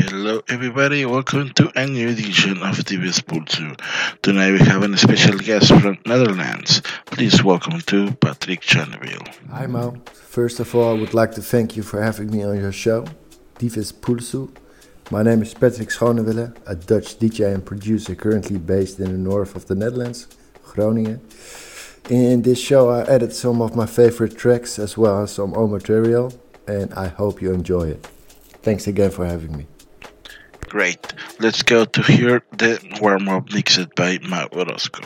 Hello, everybody. Welcome to a new edition of TV's Pool 2. Tonight we have a special guest from Netherlands. Please welcome to Patrick Channeville. Hi Mo. First of all, I would like to thank you for having me on your show, Divis Pulsu. My name is Patrick Schonewille, a Dutch DJ and producer currently based in the north of the Netherlands, Groningen. In this show I added some of my favorite tracks as well as some old material, and I hope you enjoy it. Thanks again for having me. Great. Let's go to hear the warm-up mixed by Matt Orozco.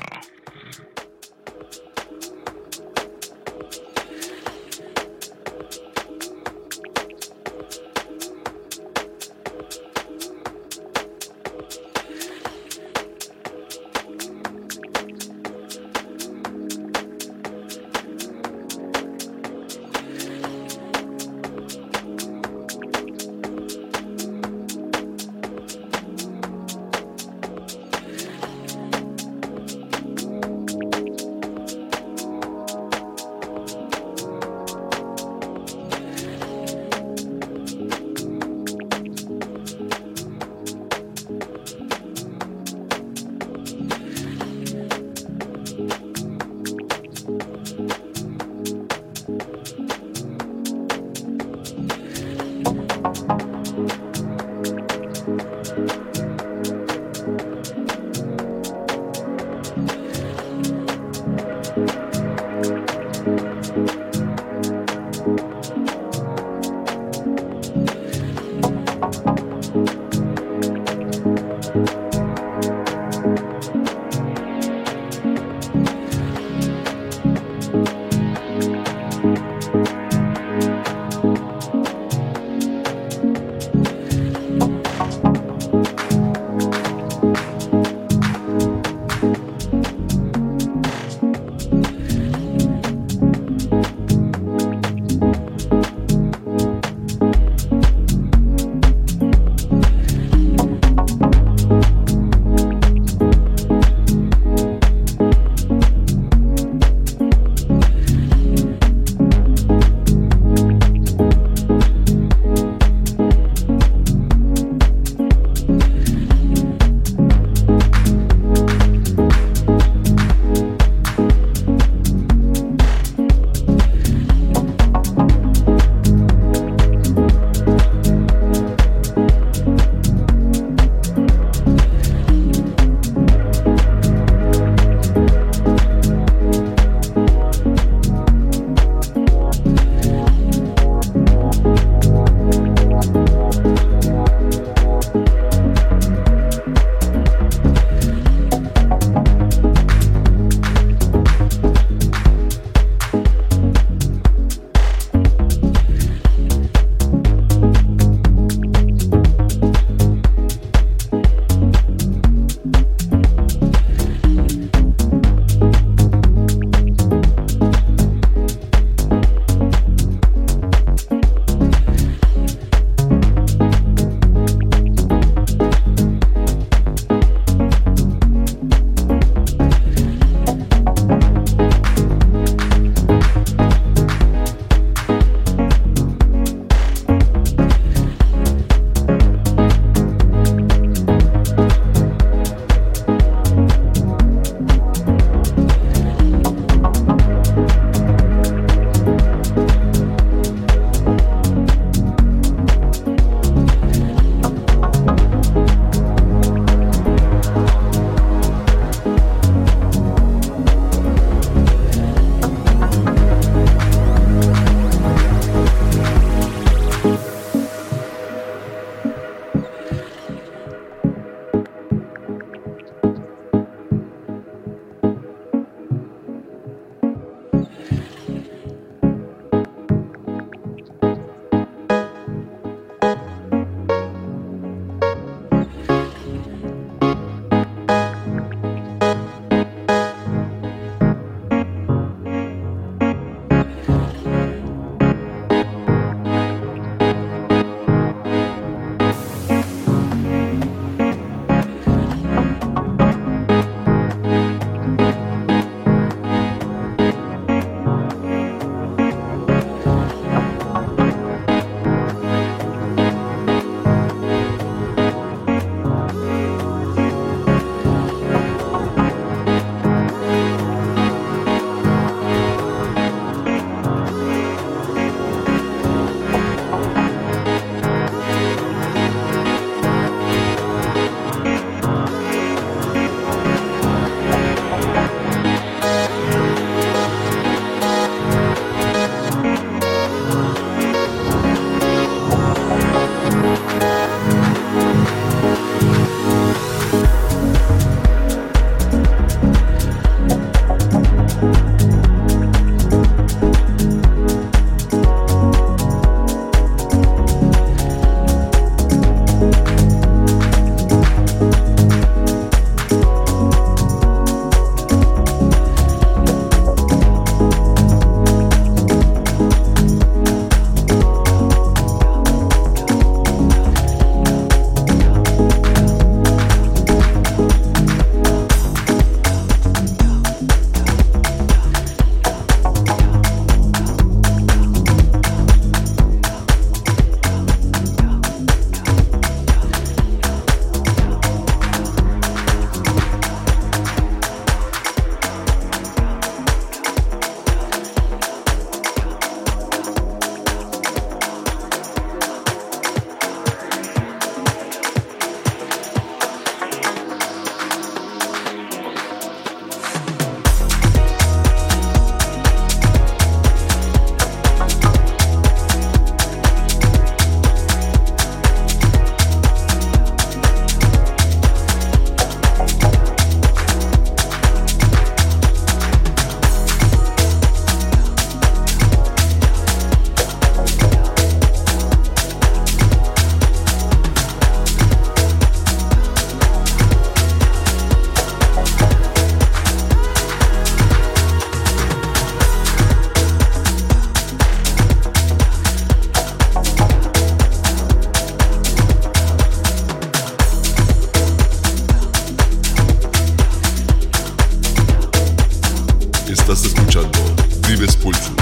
Estás escuchando Dives Pulso.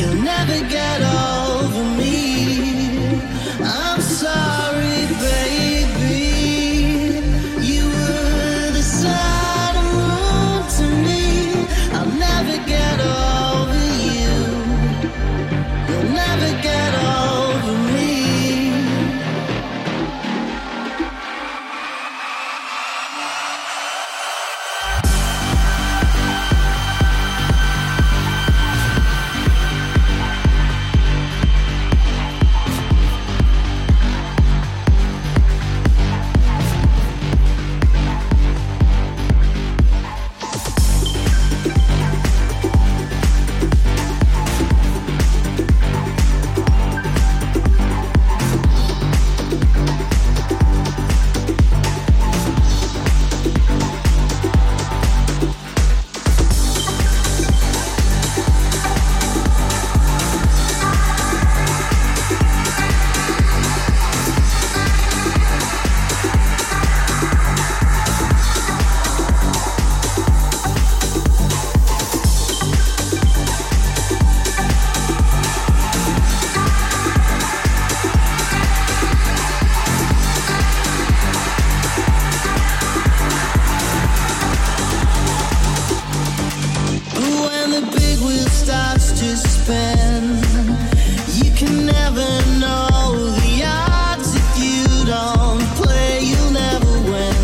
You'll never get over me. I'm sorry, baby. You were the sun and moon to me. I'll never get over you. You'll never get over me. When the big wheel starts to spin, you can never know the odds. If you don't play, you'll never win.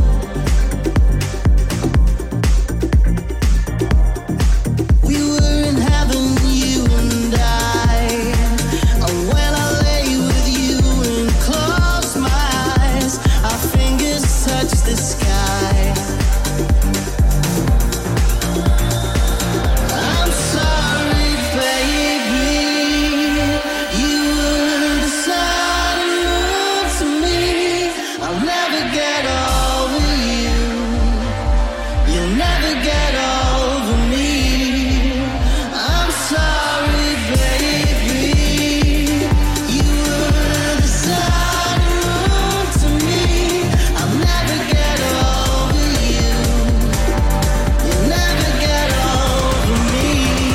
We were in heaven, you and I, and when I lay with you and close my eyes, our fingers touch the sky. I'm sorry, baby. You were the sun and moon to me. I'll never get over you. You'll never get over me. I'm sorry, baby. You were the sun and moon to me. I'll never get over you. You'll never get over me.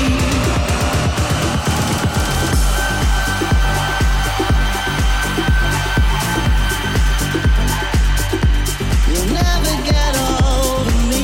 You'll never get over me.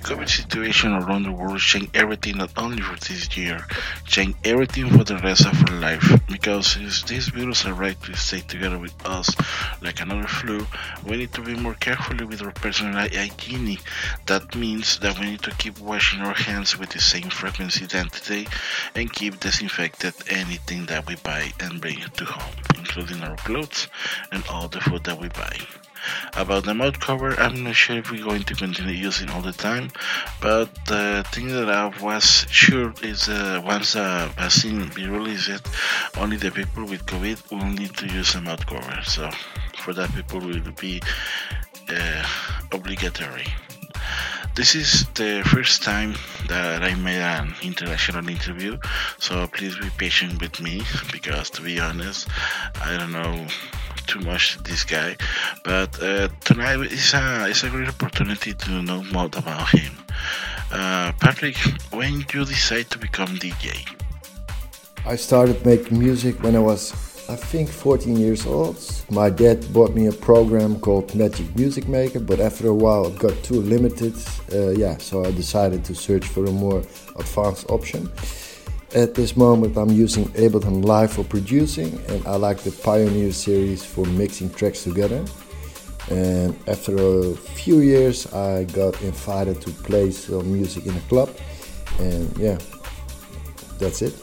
COVID situation around the world changed everything not only for this year, changed everything for the rest of our life. Because if this virus arrived to stay together with us like another flu, we need to be more careful with our personal hygiene. That means that we need to keep washing our hands with the same frequency than today and keep disinfected anything that we buy and bring it to home, including our clothes and all the food that we buy. About the mouth cover, I'm not sure if we're going to continue using all the time, but the thing that I was sure is once the vaccine be released, only the people with COVID will need to use a mouth cover. So for that, people will be obligatory. This is the first time that I made an international interview, so please be patient with me because, to be honest, I don't know too much this guy, but tonight is a great opportunity to know more about him. Patrick, when you decide to become DJ? I started making music when I was, I think, 14 years old. My dad bought me a program called Magic Music Maker, but after a while it got too limited. So I decided to search for a more advanced option. At this moment I'm using Ableton Live for producing, and I like the Pioneer series for mixing tracks together. And after a few years I got invited to play some music in a club, and that's it.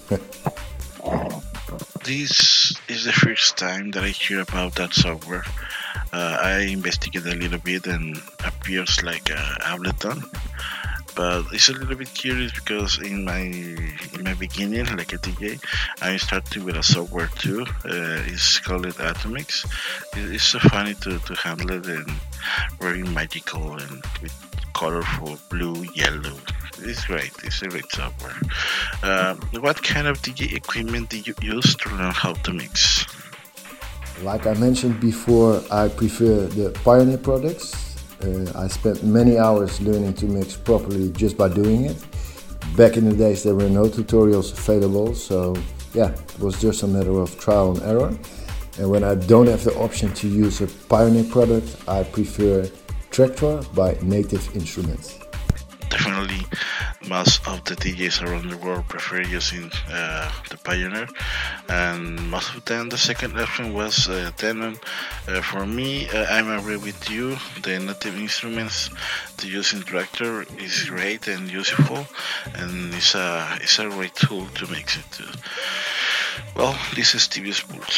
This is the first time that I hear about that software. I investigated a little bit and appears like Ableton, but it's a little bit curious because in my beginning, like a DJ, I started with a software too. It's called Atomics. It's so funny to handle it and very magical and with colorful blue, yellow. It's great. It's a great software. What kind of DJ equipment did you use to learn how to mix? Like I mentioned before, I prefer the Pioneer products. I spent many hours learning to mix properly just by doing it. Back in the days there were no tutorials available, so it was just a matter of trial and error. And when I don't have the option to use a Pioneer product, I prefer Traktor by Native Instruments. Definitely, most of the DJs around the world prefer using the Pioneer, and most of them the second option was Denon. For me, I'm agree with you. The Native Instruments to using Traktor is great and useful, and it's a great tool to mix it too. Well, this is TV's Pulso.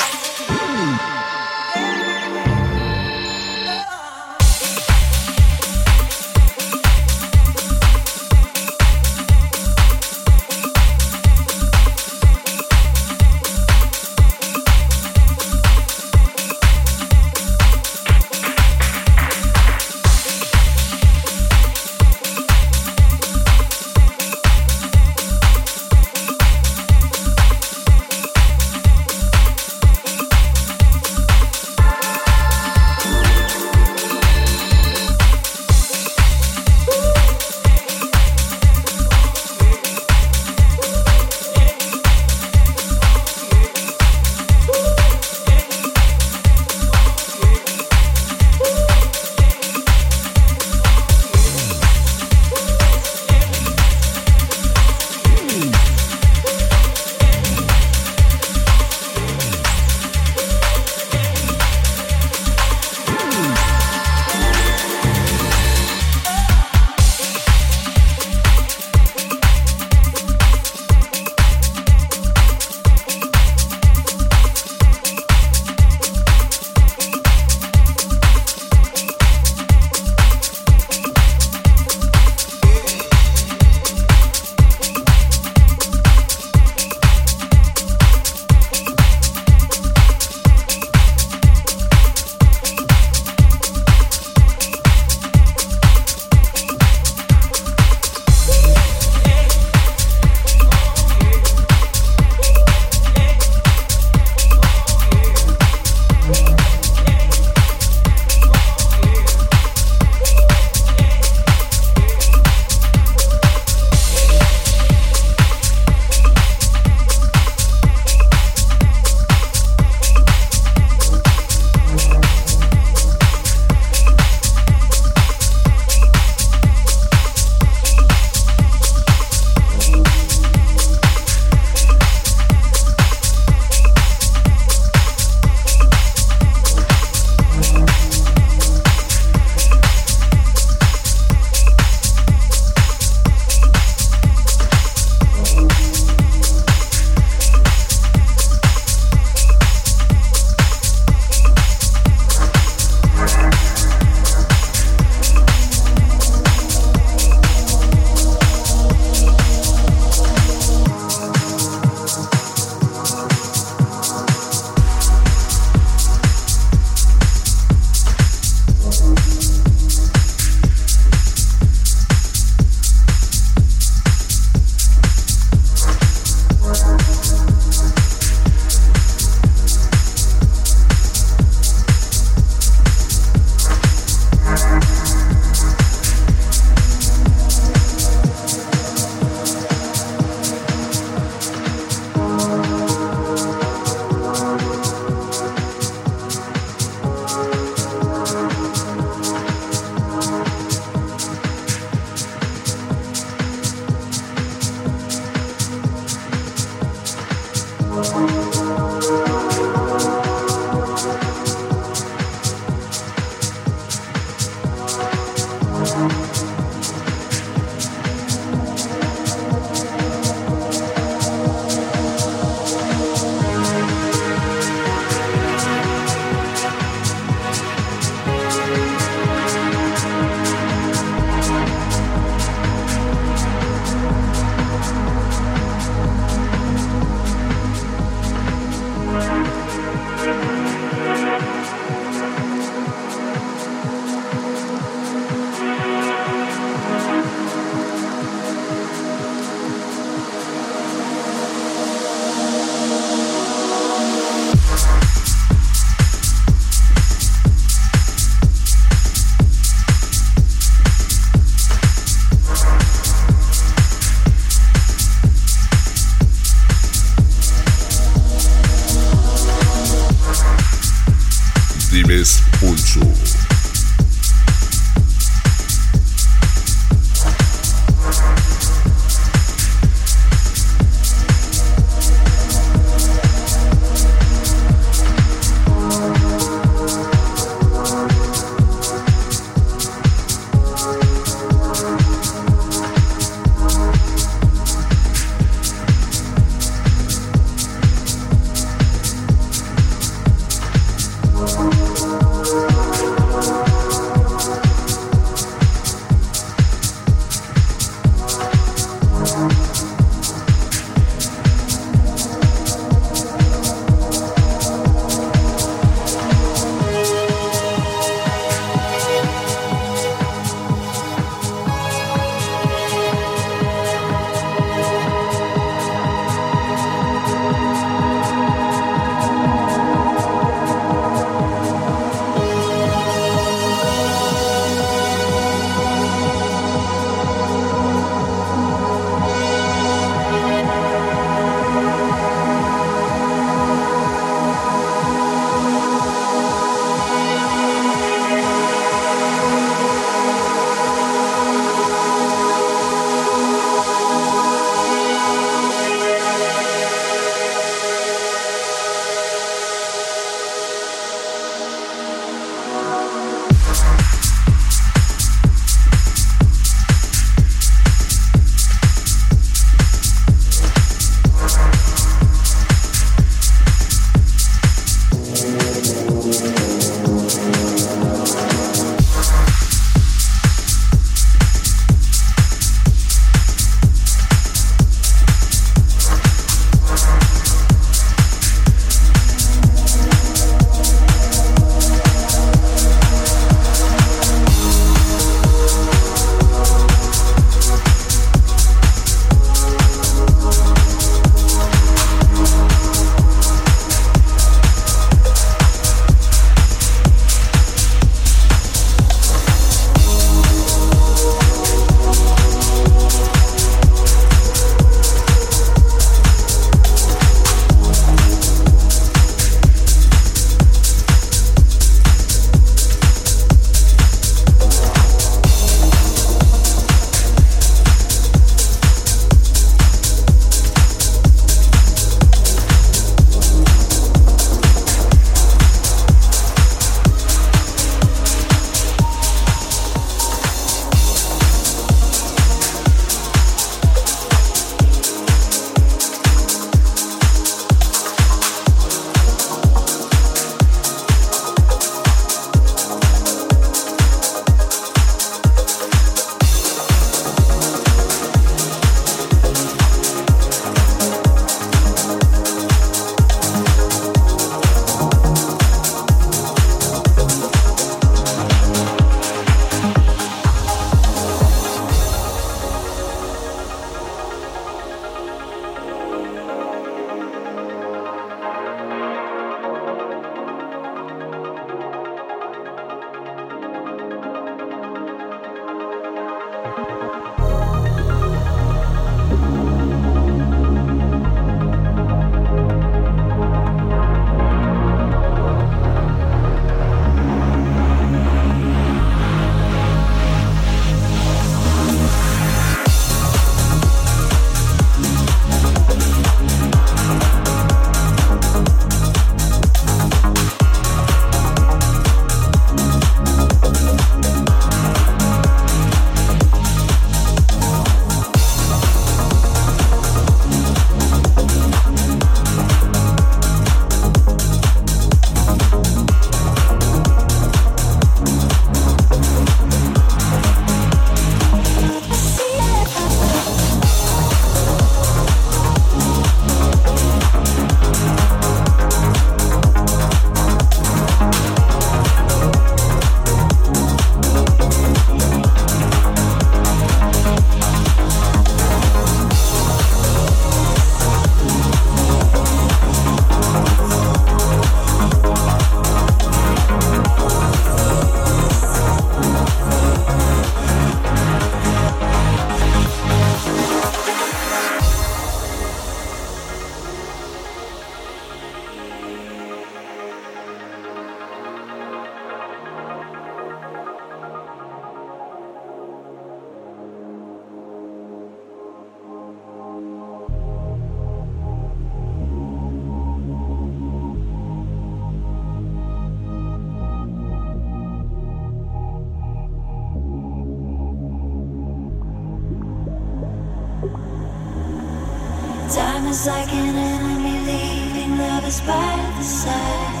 Time is like an enemy leaving lovers by the side.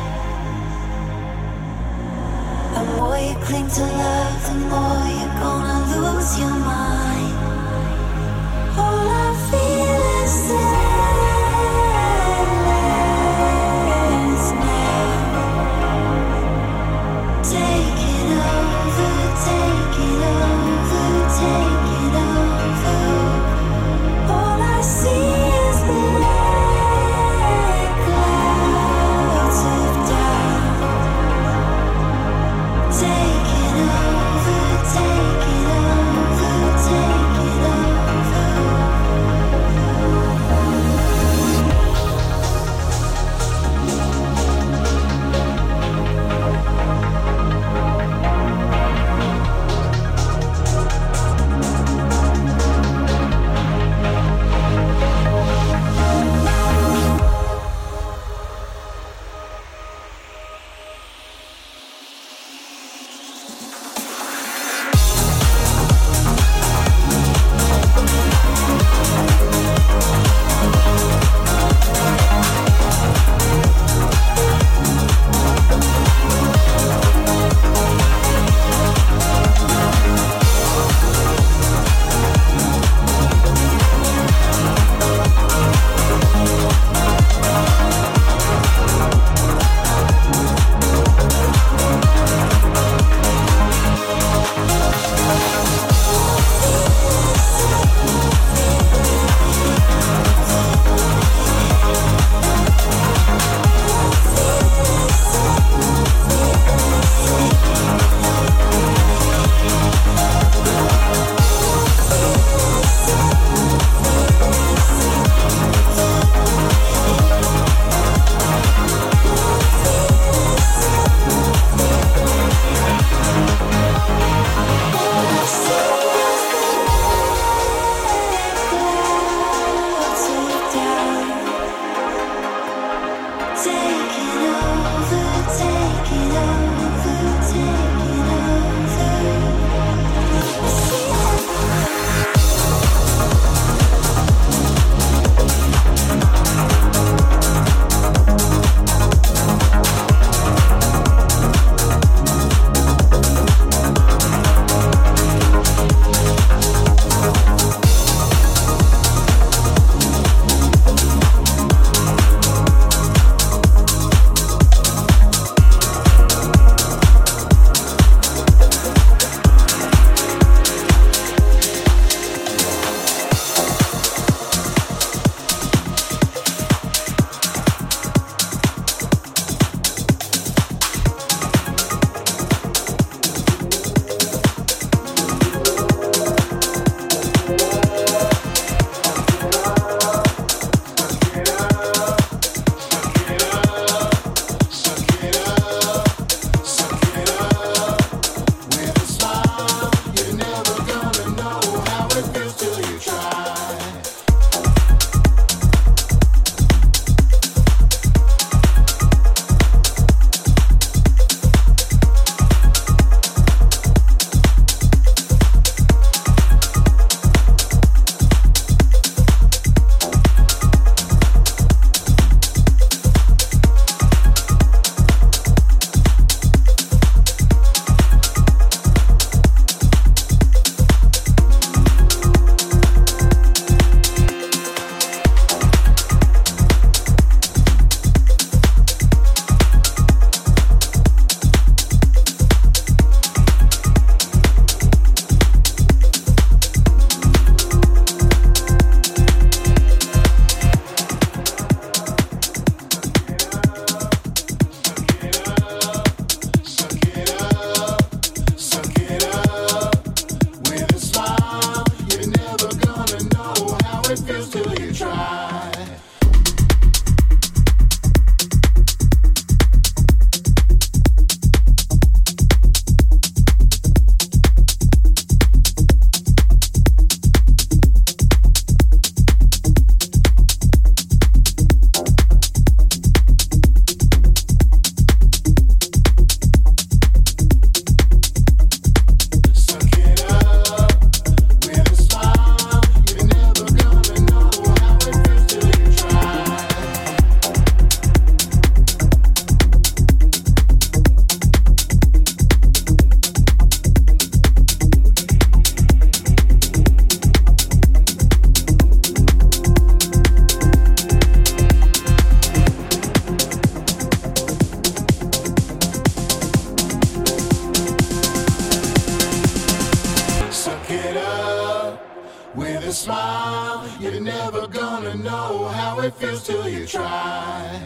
The more you cling to love, the more you're gonna lose your mind. Oh, With a smile, you're never gonna know how it feels till you try.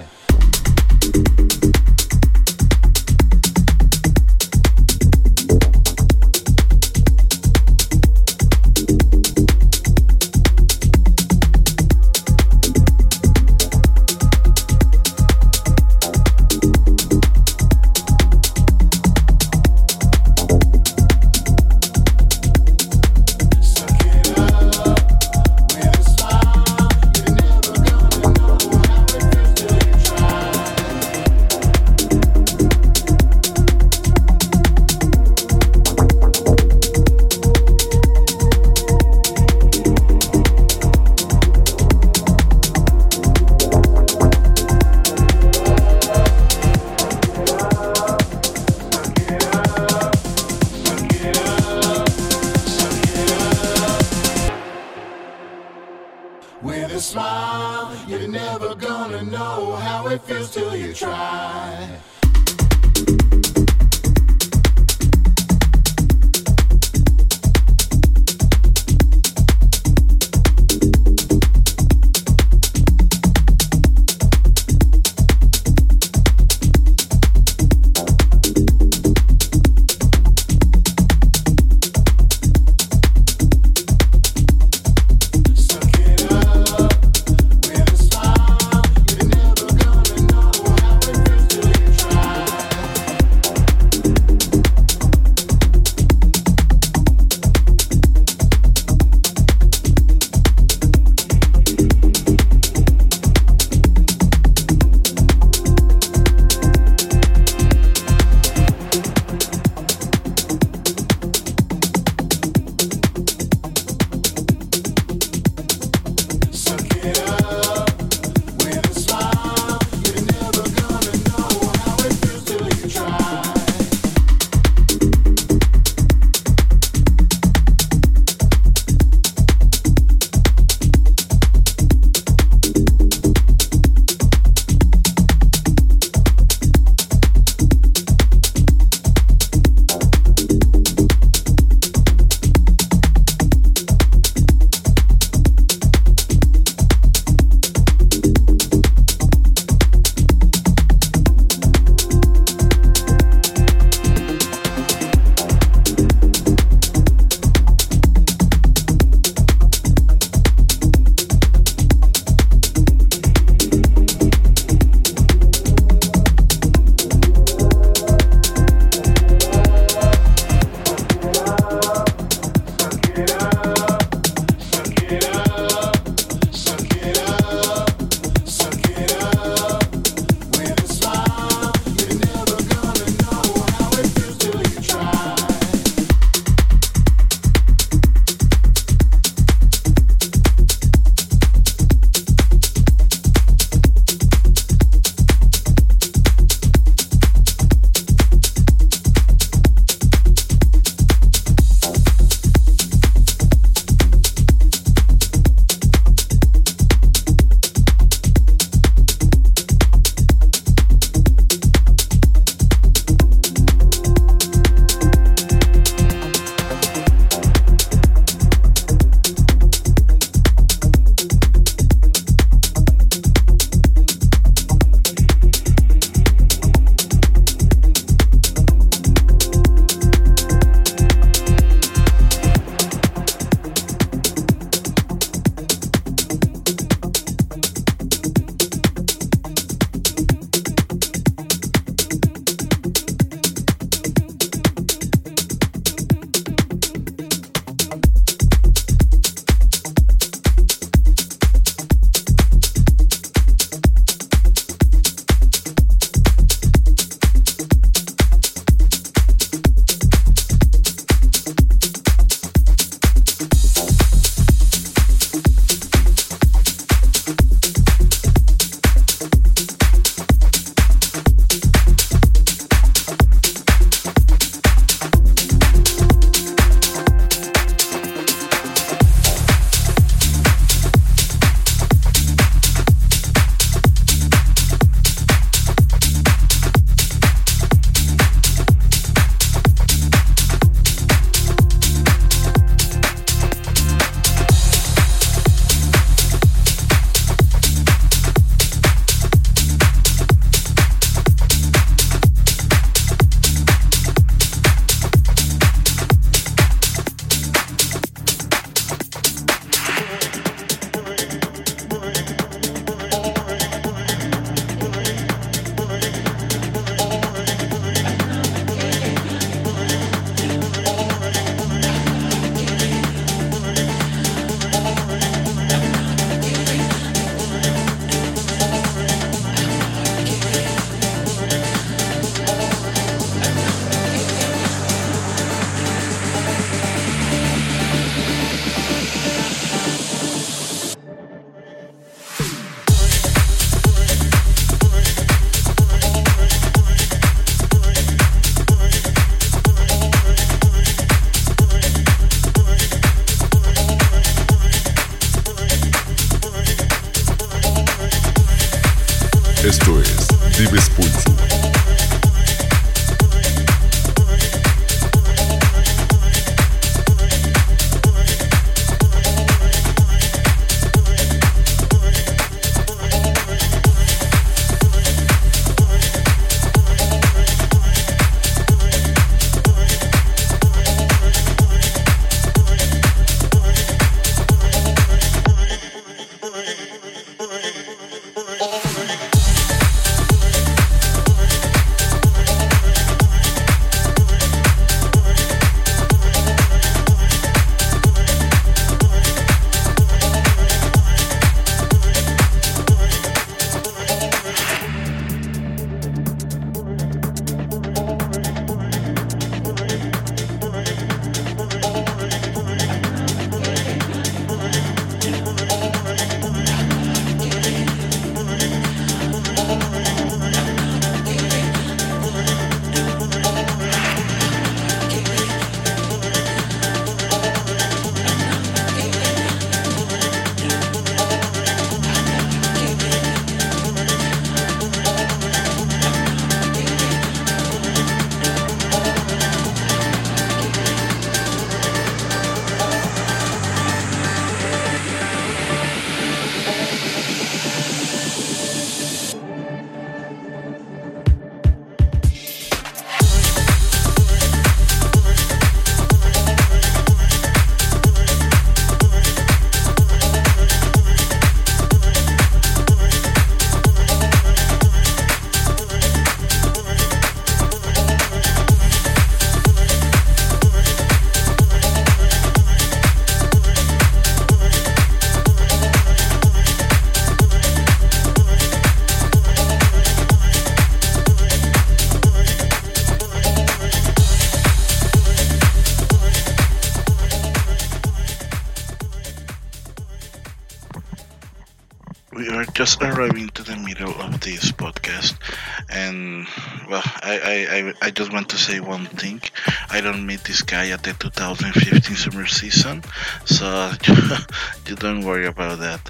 With a smile, you're never gonna know how it feels till you try. With a smile, you're never gonna know how it feels till you try. Esto es Dives Pulso. We are just arriving to the middle of this podcast, and well, I just want to say one thing. I don't meet this guy at the 2015 summer season, so you don't worry about that.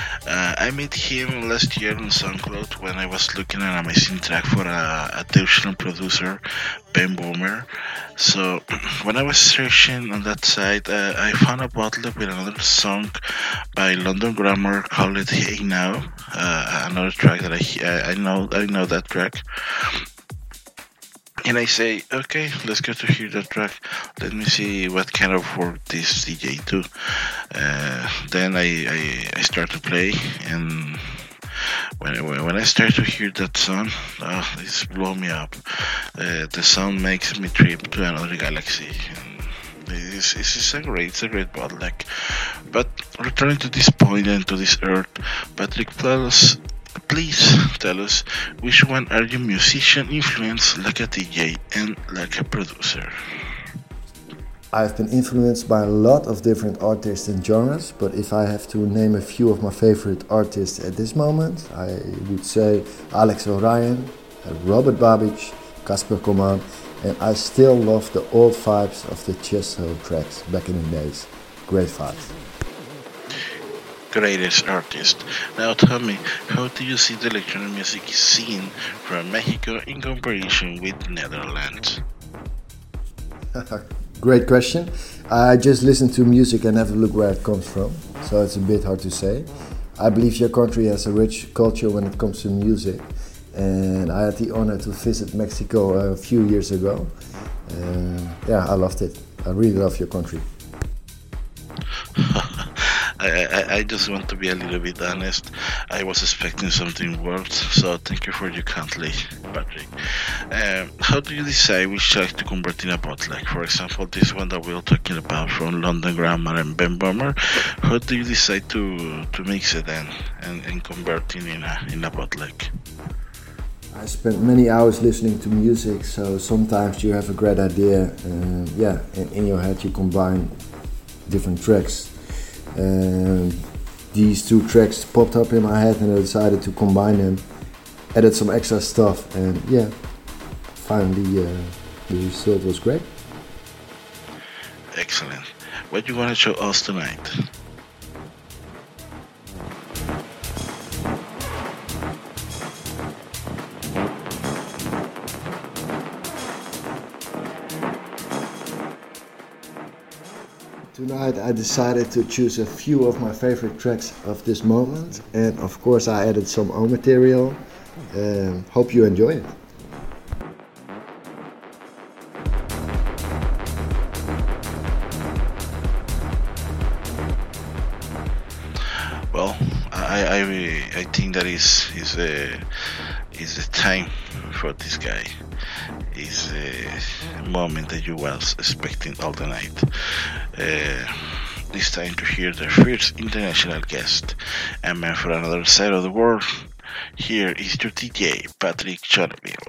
I met him last year on SoundCloud when I was looking at an amazing track for a Deutschland producer, Ben Boomer. So when I was searching on that site, I found a bottle with another song by London Grammar called it Hey Now, another track that I know that track. And I say, okay, let's go to hear that track. Let me see what kind of work this DJ do. Then I start to play, and when I start to hear that song, it's blow me up. The sound makes me trip to another galaxy. It's a great bootleg. But returning to this point and to this earth, Patrick, please tell us which one are you musician influenced like a DJ and like a producer? I've been influenced by a lot of different artists and genres, but if I have to name a few of my favorite artists at this moment, I would say Alex Orion, Robert Babich, Casper Coman, and I still love the old vibes of the Chesto tracks back in the days. Great vibes. Greatest artist. Now tell me, how do you see the electronic music scene from Mexico in comparison with Netherlands? Great question. I just listen to music and have a look where it comes from, so it's a bit hard to say. I believe your country has a rich culture when it comes to music, and I had the honor to visit Mexico a few years ago. I loved it. I really love your country. I just want to be a little bit honest. I was expecting something worse, so thank you for your kindly, Patrick. How do you decide which track to convert in a bootleg? For example, this one that we are talking about from London Grammar and Ben Boomer. How do you decide to mix it and convert it in a bootleg? I spent many hours listening to music, so sometimes you have a great idea, and in your head you combine different tracks. These two tracks popped up in my head and I decided to combine them, added some extra stuff, and finally the result was great. Excellent. What you want to show us tonight? Tonight I decided to choose a few of my favorite tracks of this moment, and of course I added some own material. Hope you enjoy it. Well, I think that is the time for this guy. Is the moment that you was expecting all the night. It's time to hear the first international guest, and man for another side of the world. Here is your DJ Patrick Choneville.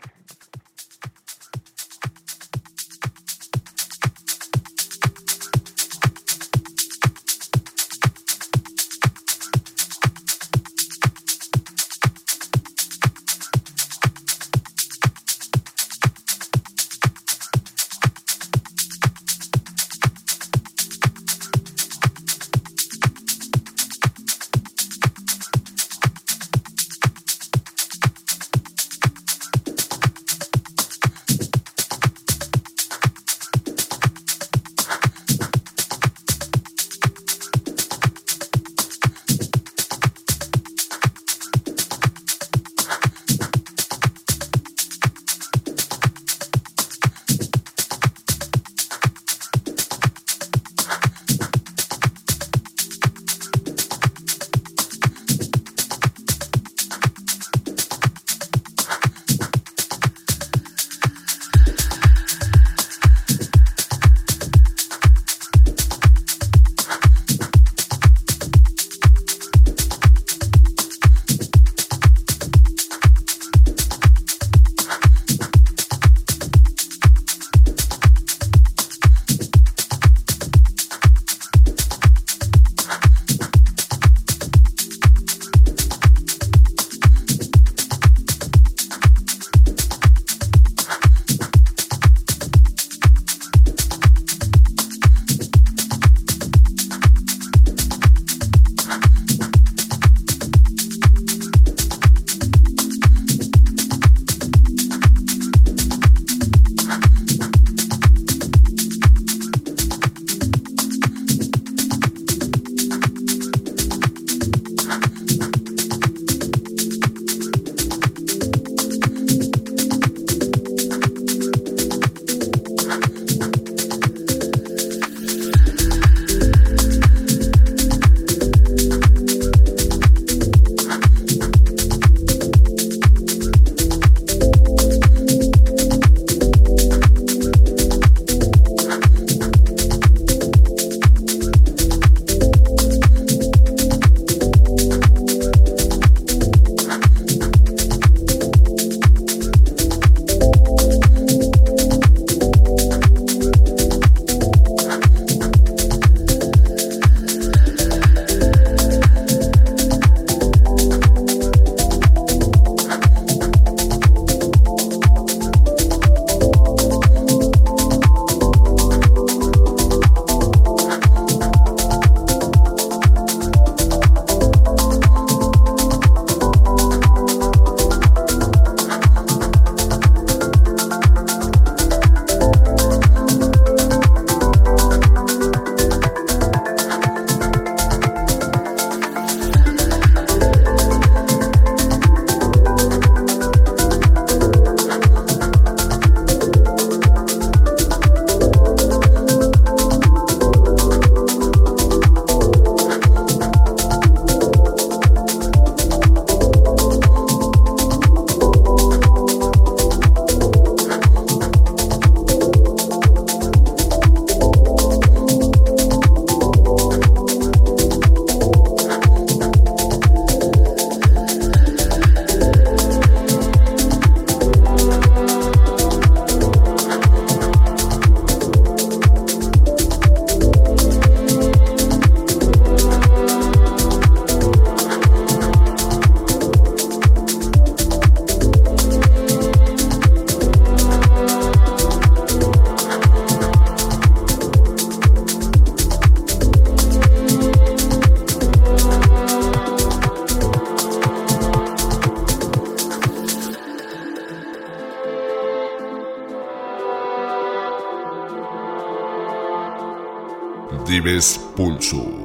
Dives Pulso.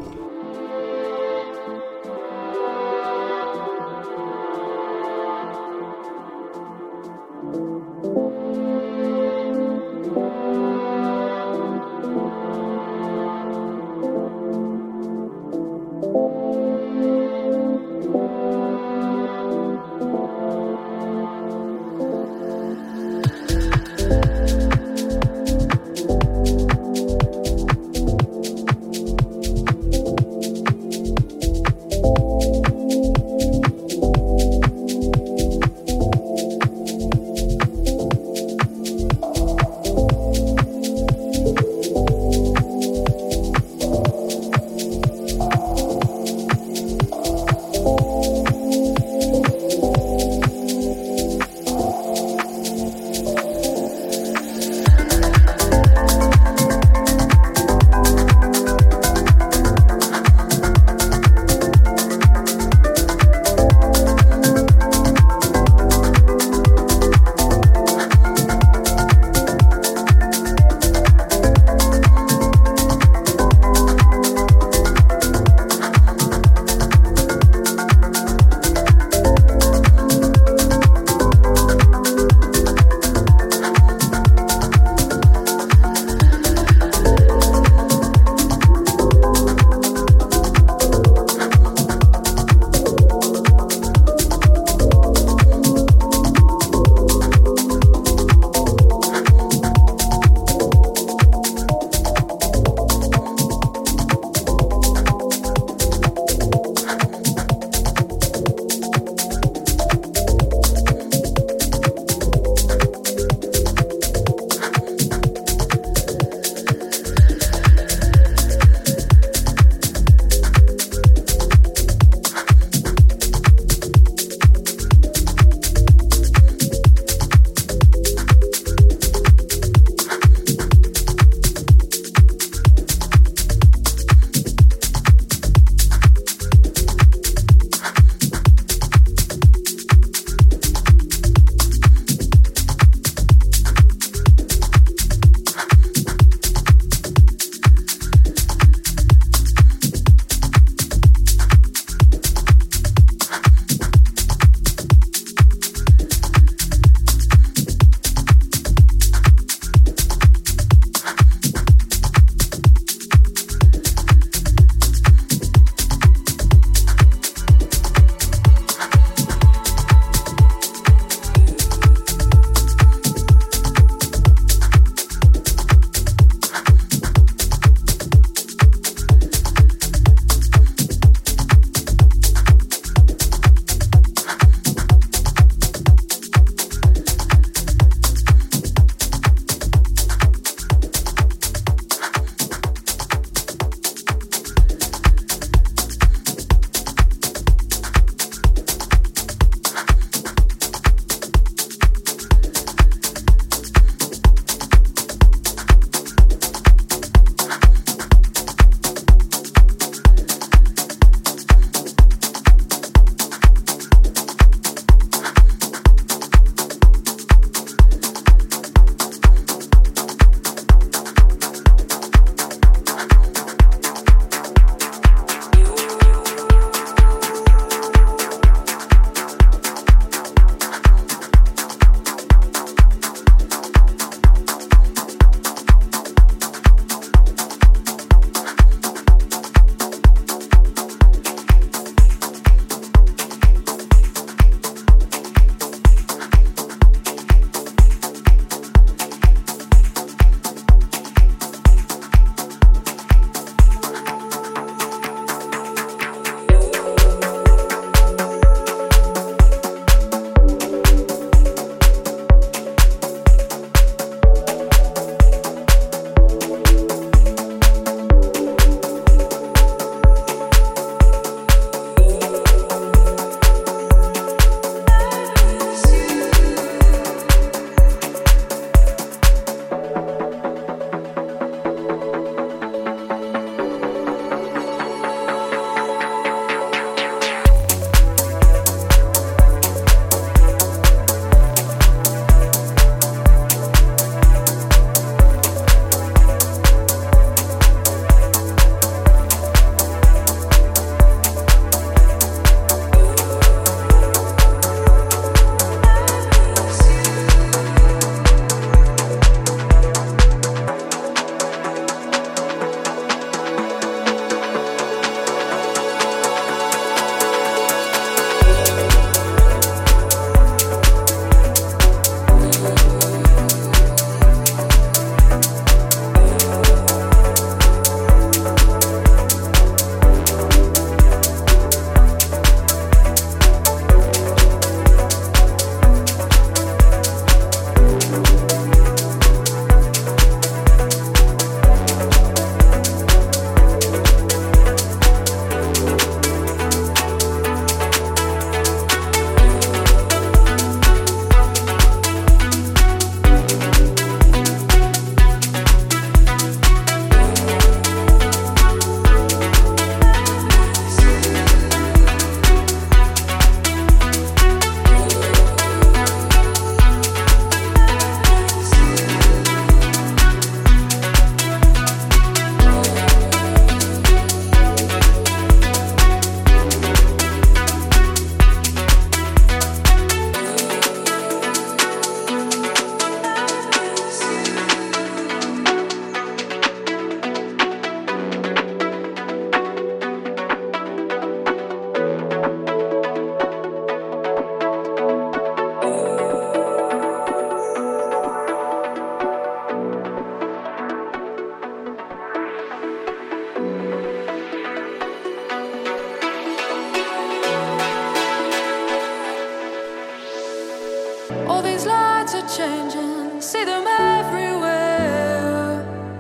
things are changing, see them everywhere.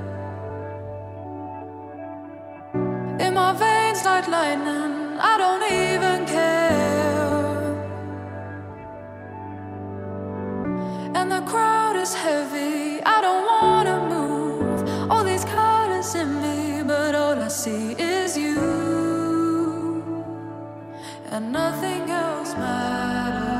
In my veins like lightning, I don't even care. And the crowd is heavy, I don't wanna move. All these colors in me, but all I see is you. And nothing else matters.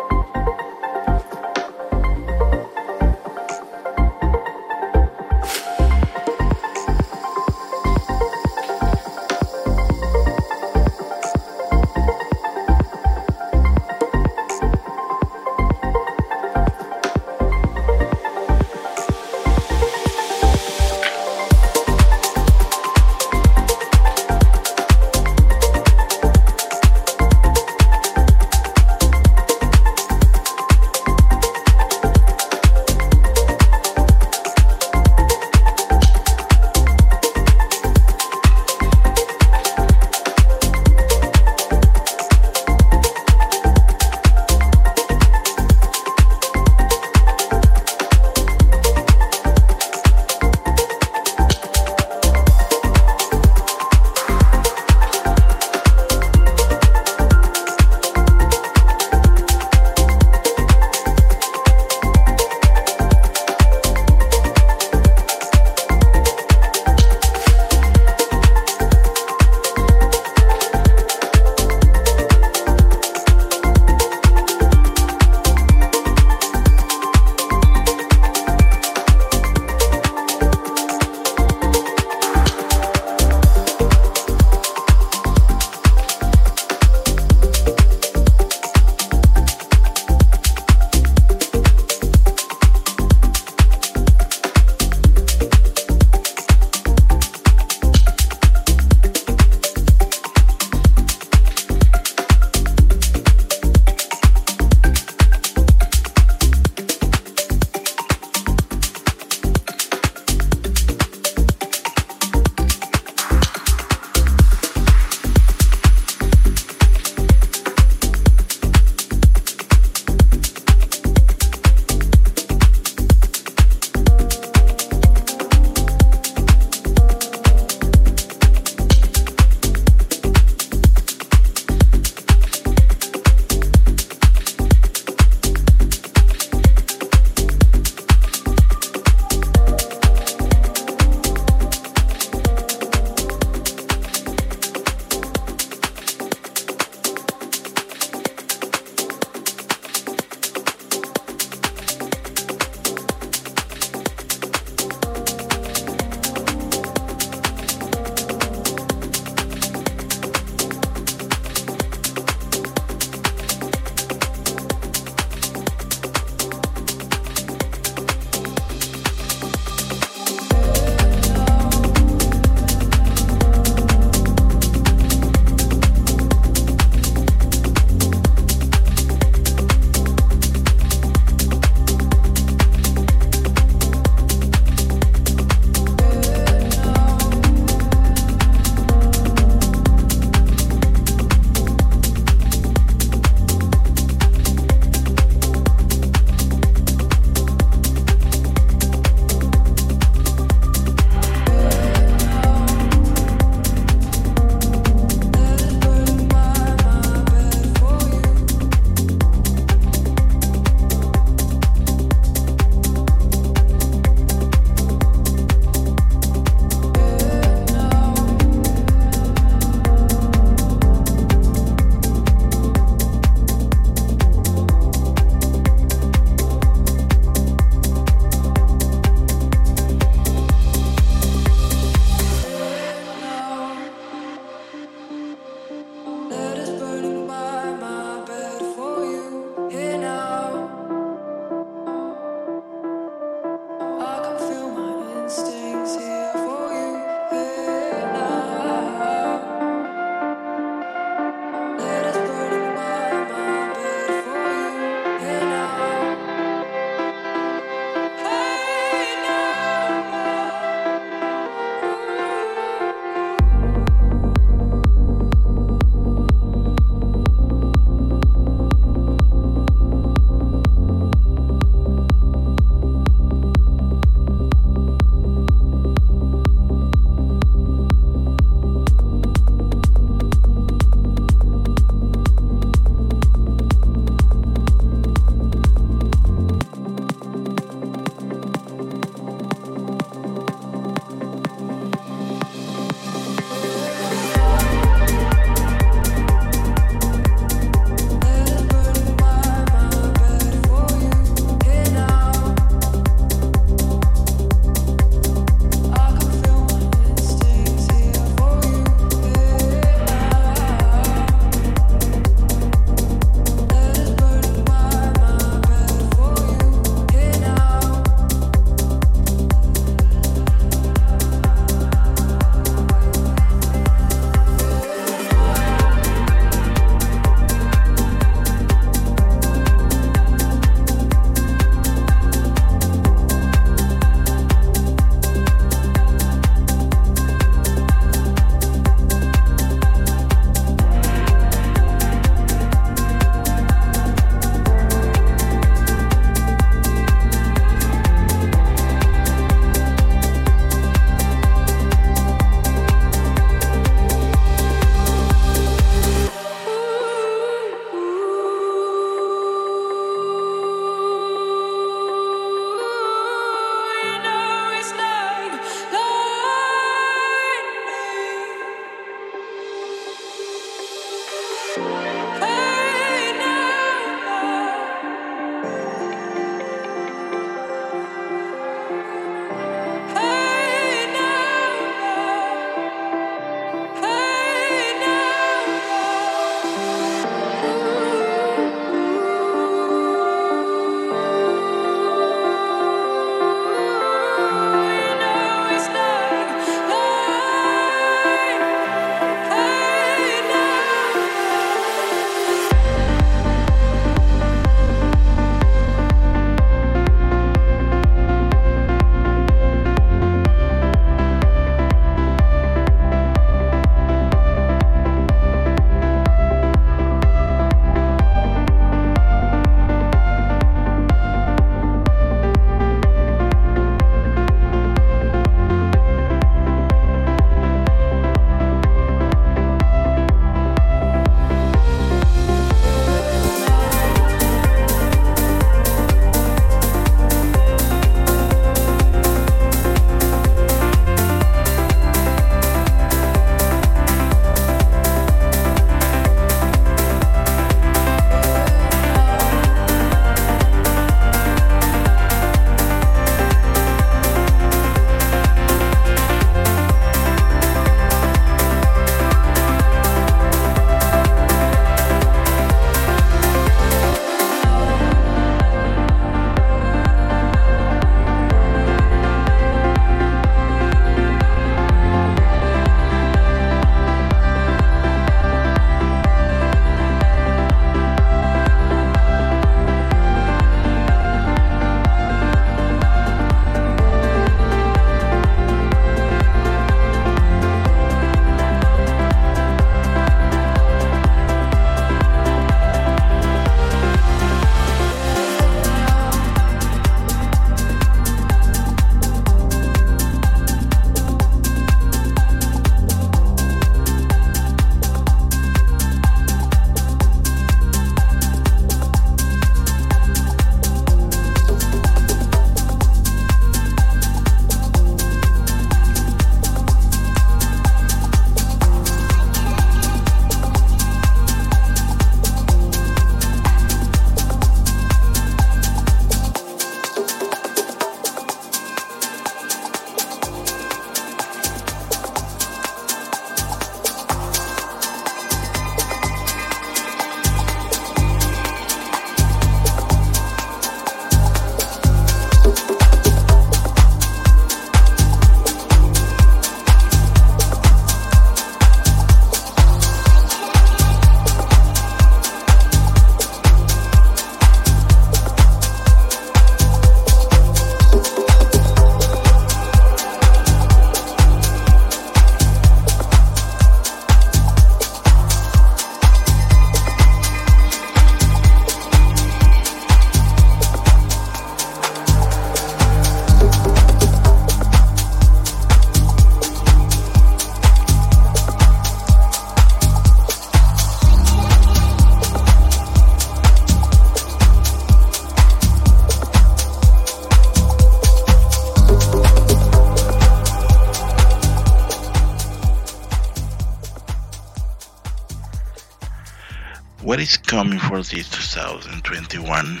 What is coming for this 2021?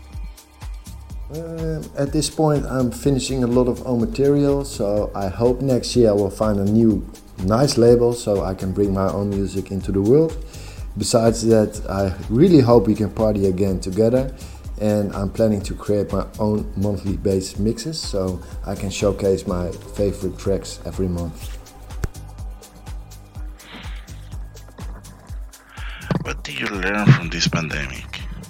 At this point, I'm finishing a lot of own material, so I hope next year I will find a new nice label so I can bring my own music into the world. Besides that, I really hope we can party again together, and I'm planning to create my own monthly based mixes so I can showcase my favorite tracks every month. What did you learn from this pandemic?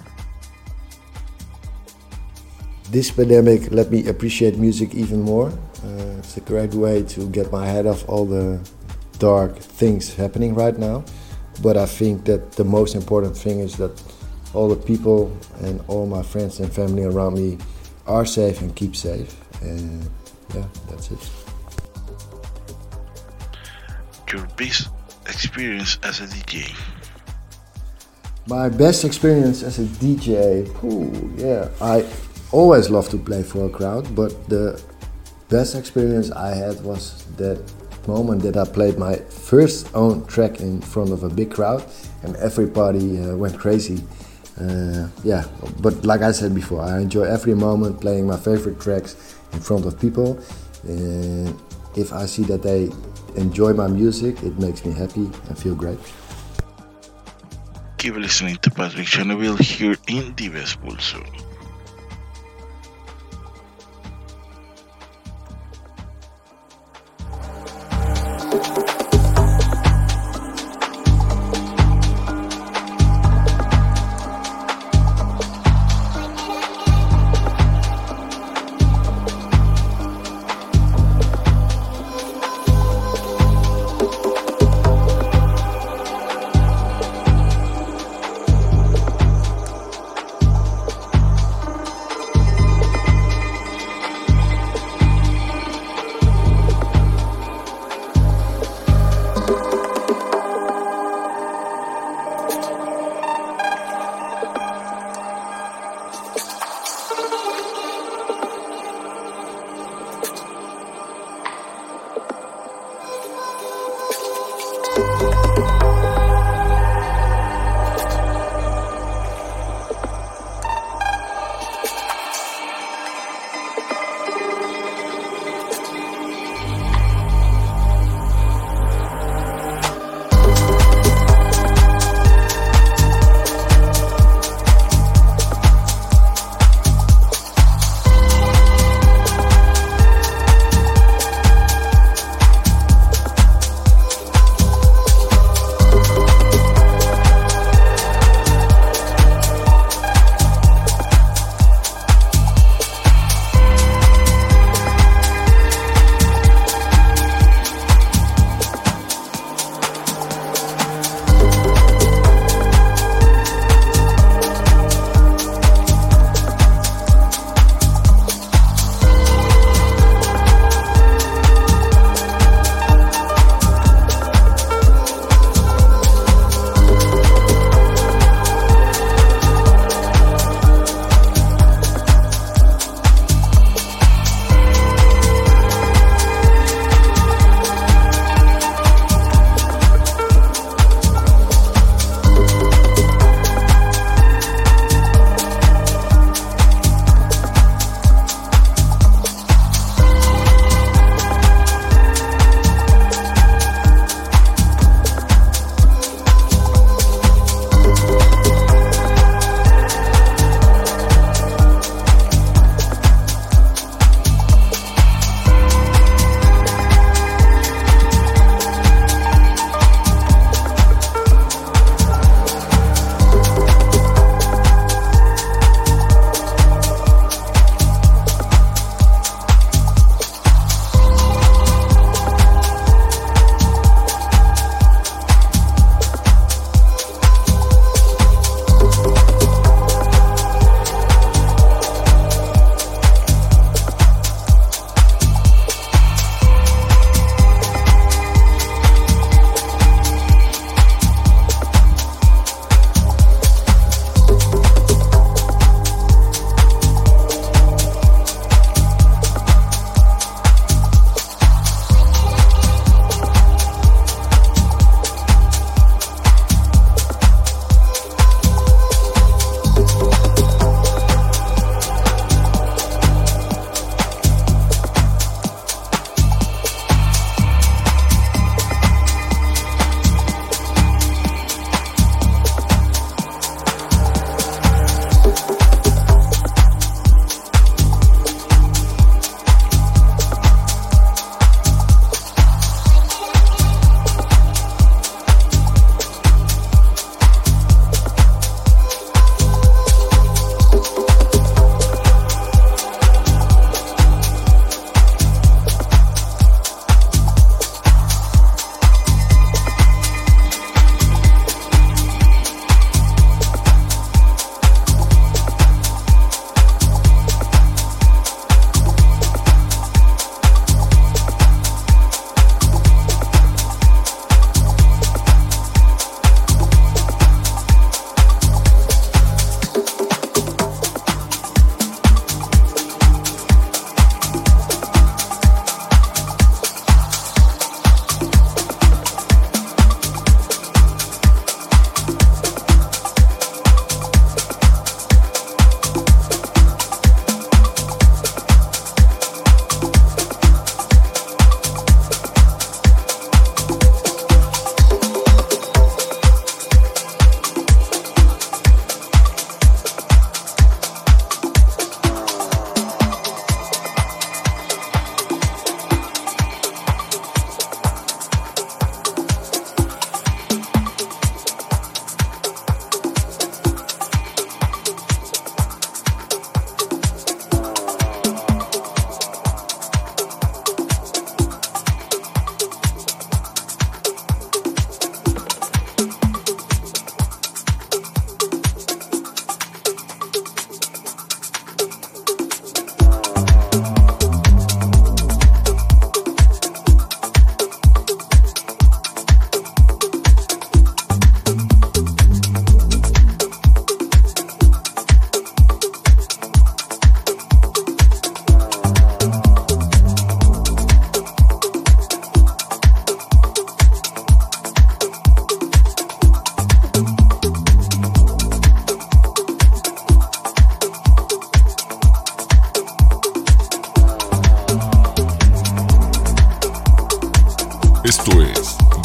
This pandemic let me appreciate music even more. It's a great way to get my head off all the dark things happening right now. But I think that the most important thing is that all the people and all my friends and family around me are safe and keep safe. And yeah, that's it. Your best experience as a DJ? My best experience as a DJ, I always love to play for a crowd, but the best experience I had was that moment that I played my first own track in front of a big crowd and everybody went crazy. But like I said before, I enjoy every moment playing my favorite tracks in front of people, and if I see that they enjoy my music, it makes me happy and feel great. Keep listening to Patrick Chernobyl here in Dives Pulso.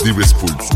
Dives Pulso.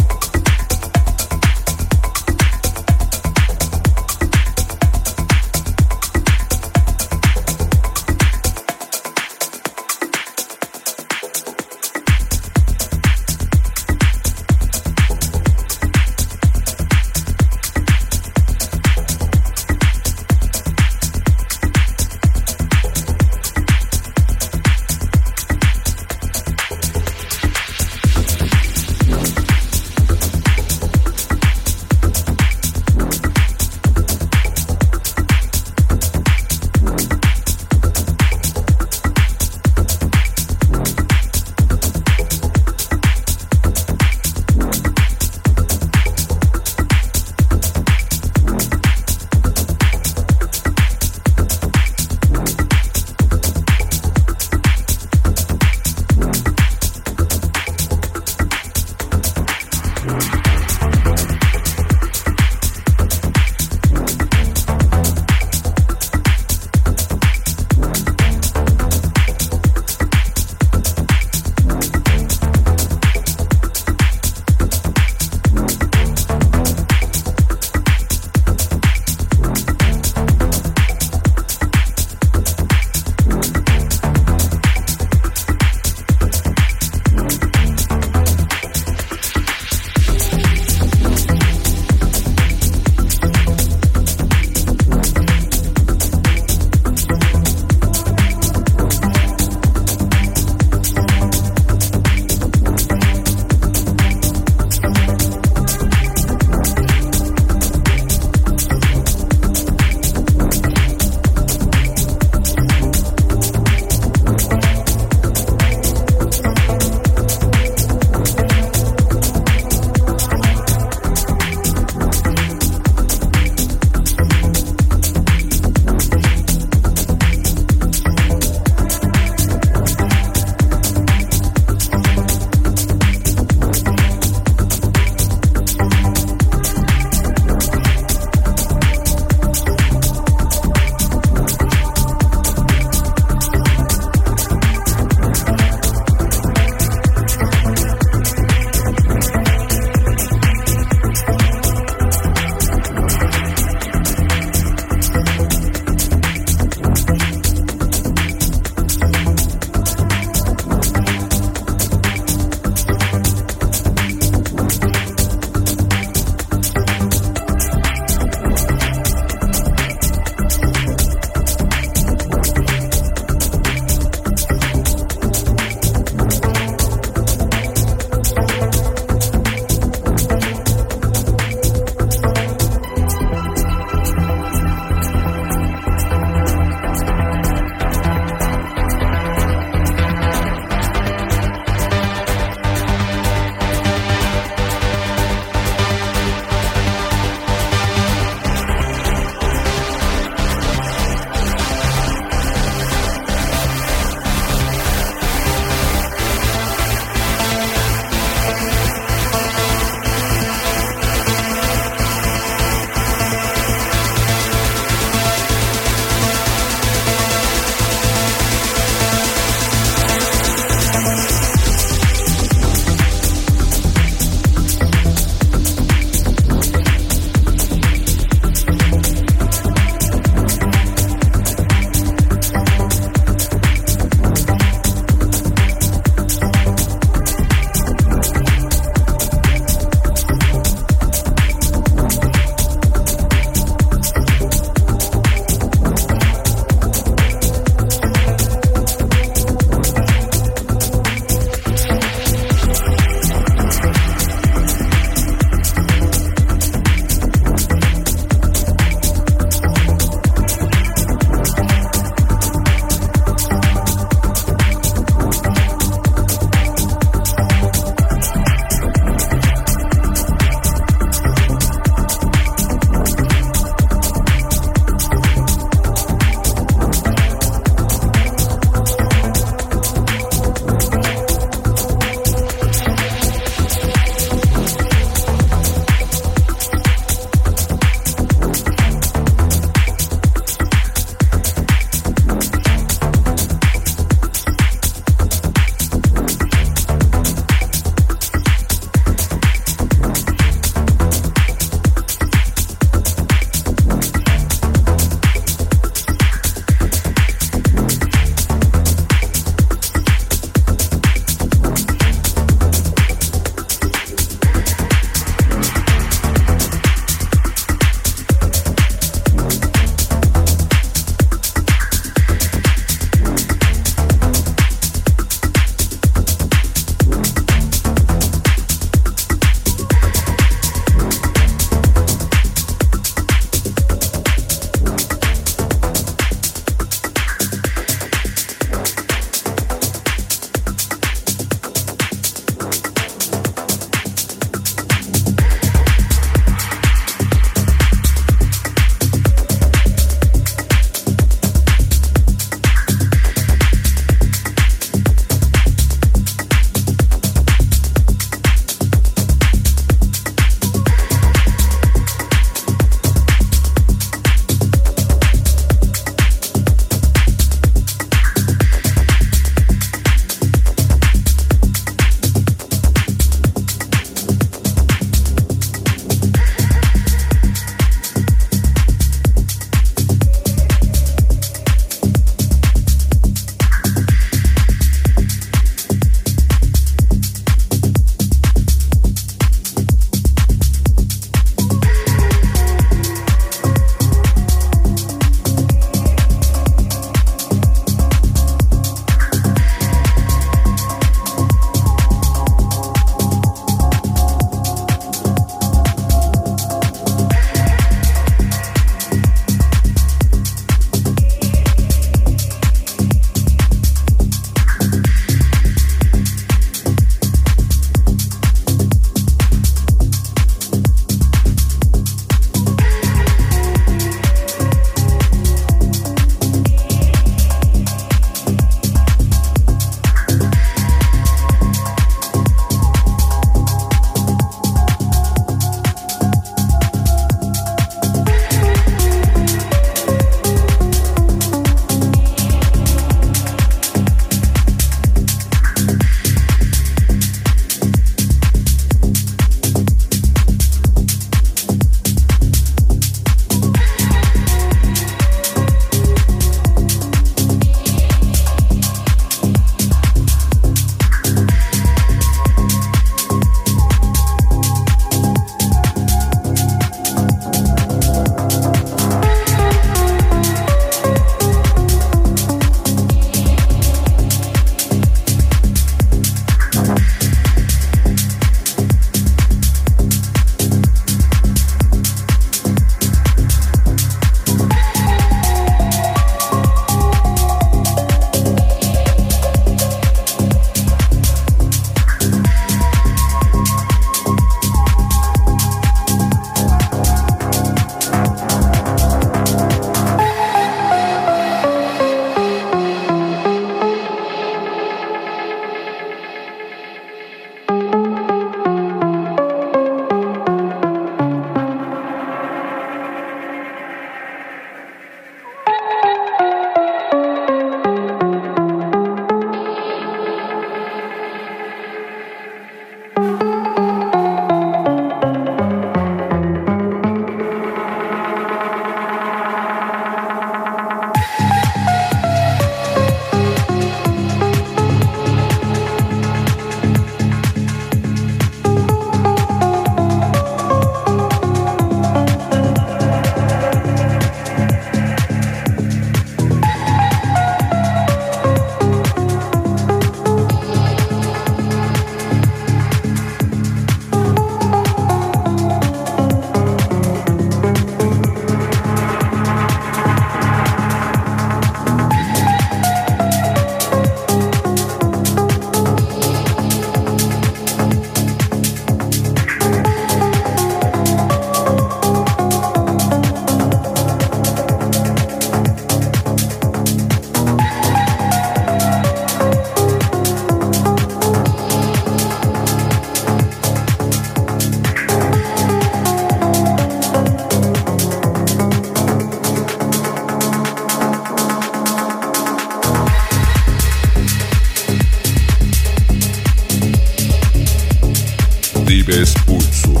Dibes Pulso.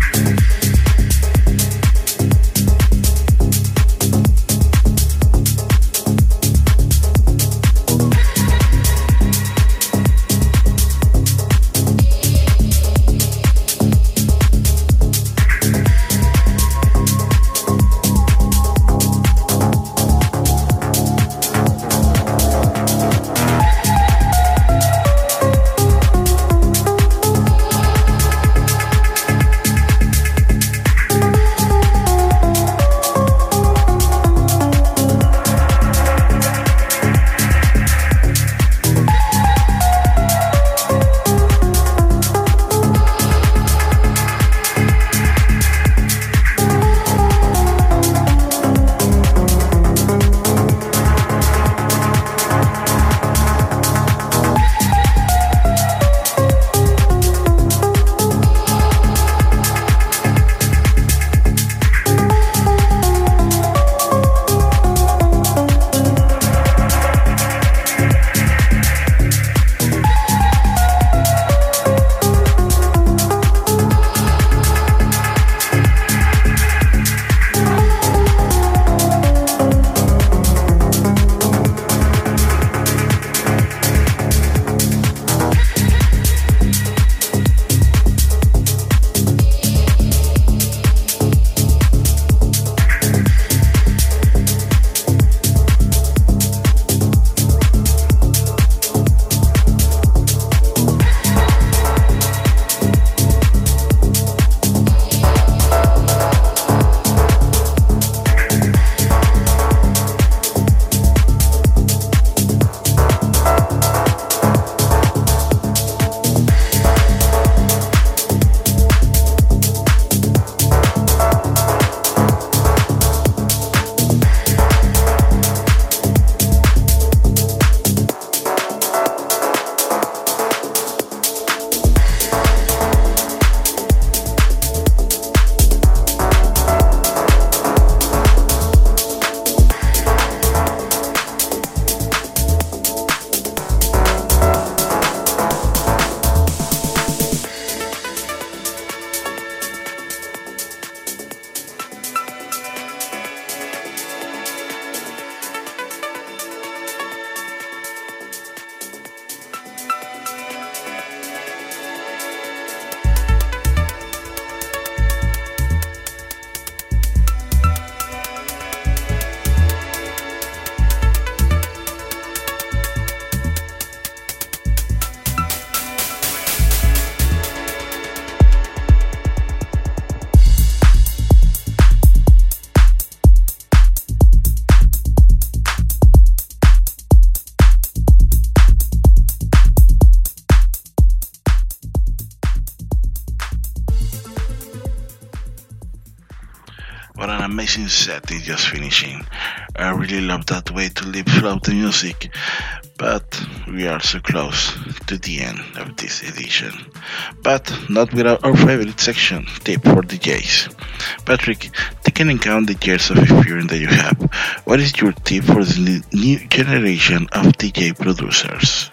What an amazing set is just finishing. I really love that way to live throughout the music, but we are so close to the end of this edition. But not without our favorite section, Tip for DJs. Patrick, taking into account the years of experience that you have, what is your tip for the new generation of DJ producers?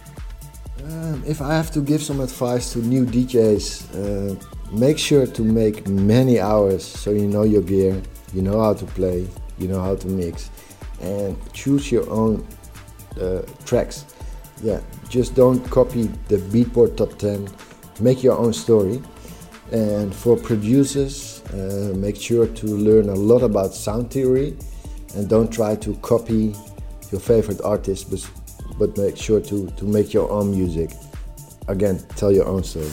If I have to give some advice to new DJs, make sure to make many hours so you know your gear, you know how to play, you know how to mix, and choose your own tracks. Yeah, just don't copy the Beatport Top 10, make your own story. And for producers, make sure to learn a lot about sound theory and don't try to copy your favorite artist, but make sure to make your own music. Again, tell your own story.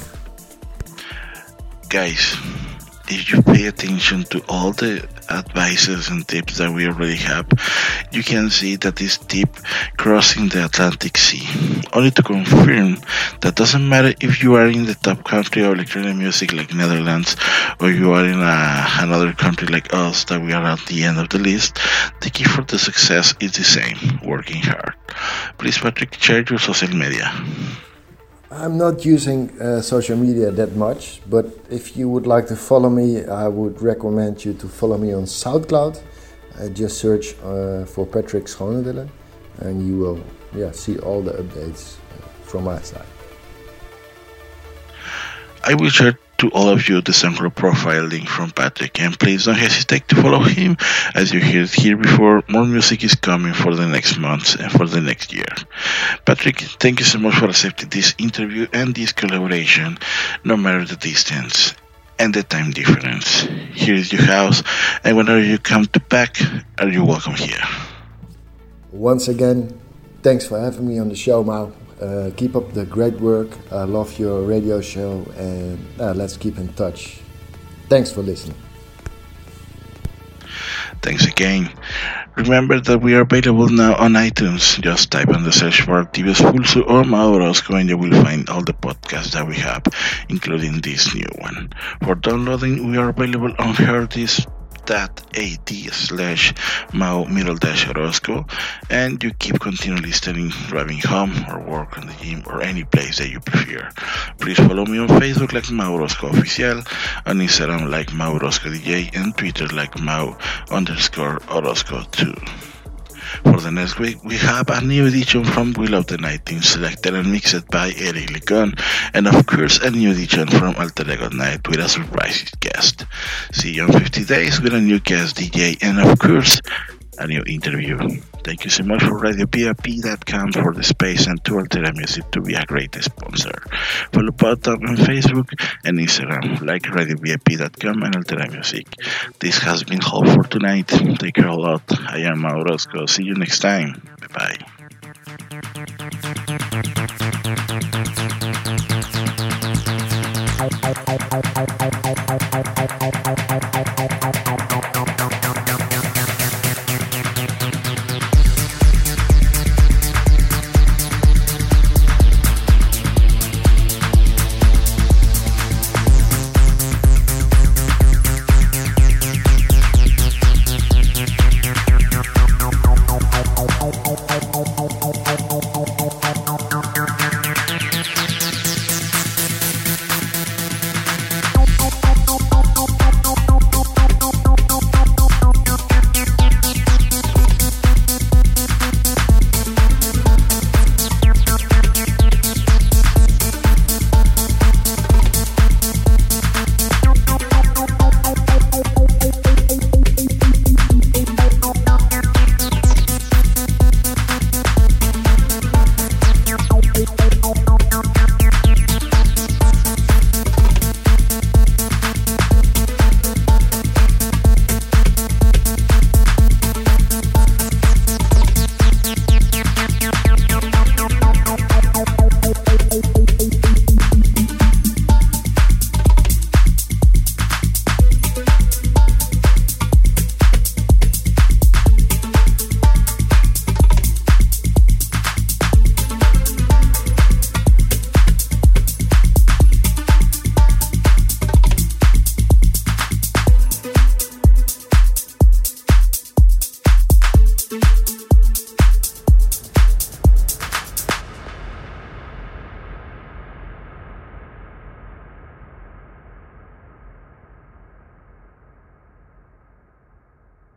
Guys, if you pay attention to all the advices and tips that we already have, you can see that this tip crossing the Atlantic Sea. Only to confirm that doesn't matter if you are in the top country of electronic music like Netherlands or you are in another country like us that we are at the end of the list, the key for the success is the same, working hard. Please Patrick, share your social media. I'm not using social media that much, but if you would like to follow me, I would recommend you to follow me on SoundCloud. Just search for Patrick Schonewille and you will see all the updates from my side. I will share to all of you the SoundCloud profile link from Patrick, and please don't hesitate to follow him. As you heard here before, more music is coming for the next months and for the next year. Patrick, thank you so much for accepting this interview and this collaboration, no matter the distance and the time difference. Here is your house, and whenever you come to back, are you welcome here. Once again, thanks for having me on the show, Mau. Keep up the great work. I love your radio show, and let's keep in touch. Thanks for listening. Thanks again. Remember that we are available now on iTunes. Just type on the search bar Tibios Pulso or Mau Orozco and you will find all the podcasts that we have, including this new one. For downloading, we are available on herdis.at/Mau_Orozco, and you keep continuing listening driving home or work on the gym or any place that you prefer. Please follow me on Facebook like Mau Orozco Oficial, on Instagram like Mau Orozco DJ, and Twitter like Mau_Orozco2. For the next week, we have a new edition from Will of the Night Team, selected and mixed by Eric Licon, and of course a new edition from Alter Ego Night with a surprise guest. See you in 50 days with a new guest DJ, and of course a new interview. Thank you so much for RadioVIP.com for the space, and to Altera Music to be a great sponsor. Follow both on Facebook and Instagram like RadioVIP.com and Altera Music. This has been all for tonight. Take care a lot. I am Mau Orozco. See you next time. Bye bye.